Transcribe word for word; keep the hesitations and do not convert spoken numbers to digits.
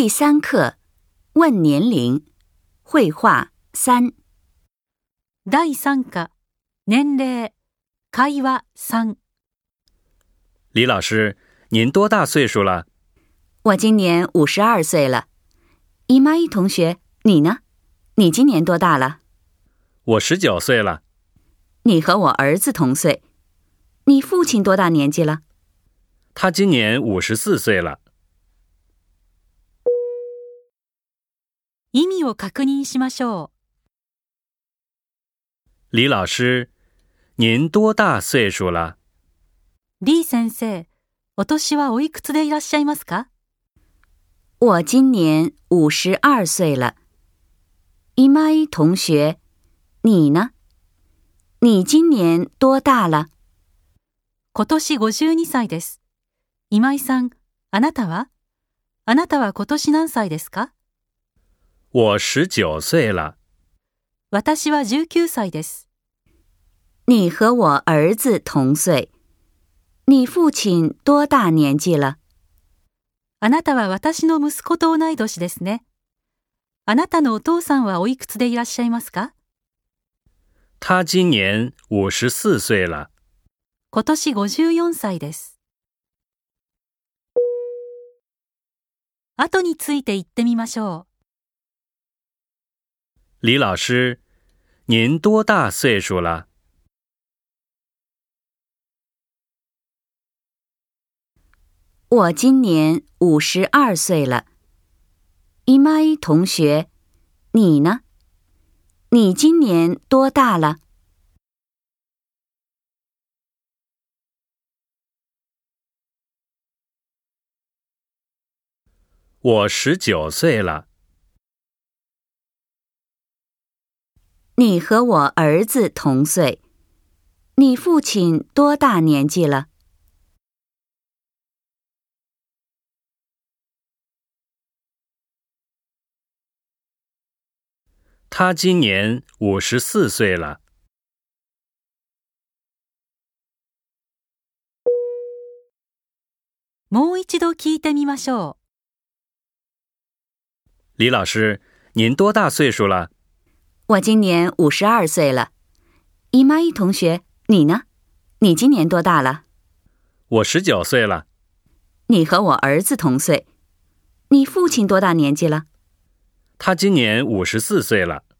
第三课，问年龄，绘画三。 第三課、年齢、会話三。 李老师，您多大岁数了？ 我今年五十二岁了。伊玛伊同学，你呢？你今年多大了？ 我十九岁了。 你和我儿子同岁。你父亲多大年纪了？ 他今年五十四岁了。 意味を確認しましょう。 李老师，您多大岁数了？ 李先生、お年はおいくつでいらっしゃいますか？ 我今年五十二岁了。伊玛伊同学，你呢？你今年多大了？ 今年ごじゅうにさいです。今井さん、あなたは？あなたは今年何歳ですか？ 我十九岁了。 私はじゅうきゅうさいです。 你和我儿子同岁。你父亲多大年纪了？ あなたは私の息子と同い年ですね。あなたのお父さんはおいくつでいらっしゃいますか？ 他今年五十四岁了。 今年ごじゅうよんさいです。後について言ってみましょう。 李老师，您多大岁数了？ 我今年五十二岁了。伊玛伊同学，你呢？你今年多大了？ 我十九岁了。 你和我儿子同岁。你父亲多大年纪了？ 他今年五十四岁了。 もう一度聞いてみましょう。 李老师，您多大岁数了？ 我今年五十二岁了。伊玛伊同学，你呢？你今年多大了？ 我十九岁了。 你和我儿子同岁。你父亲多大年纪了？ 他今年五十四岁了。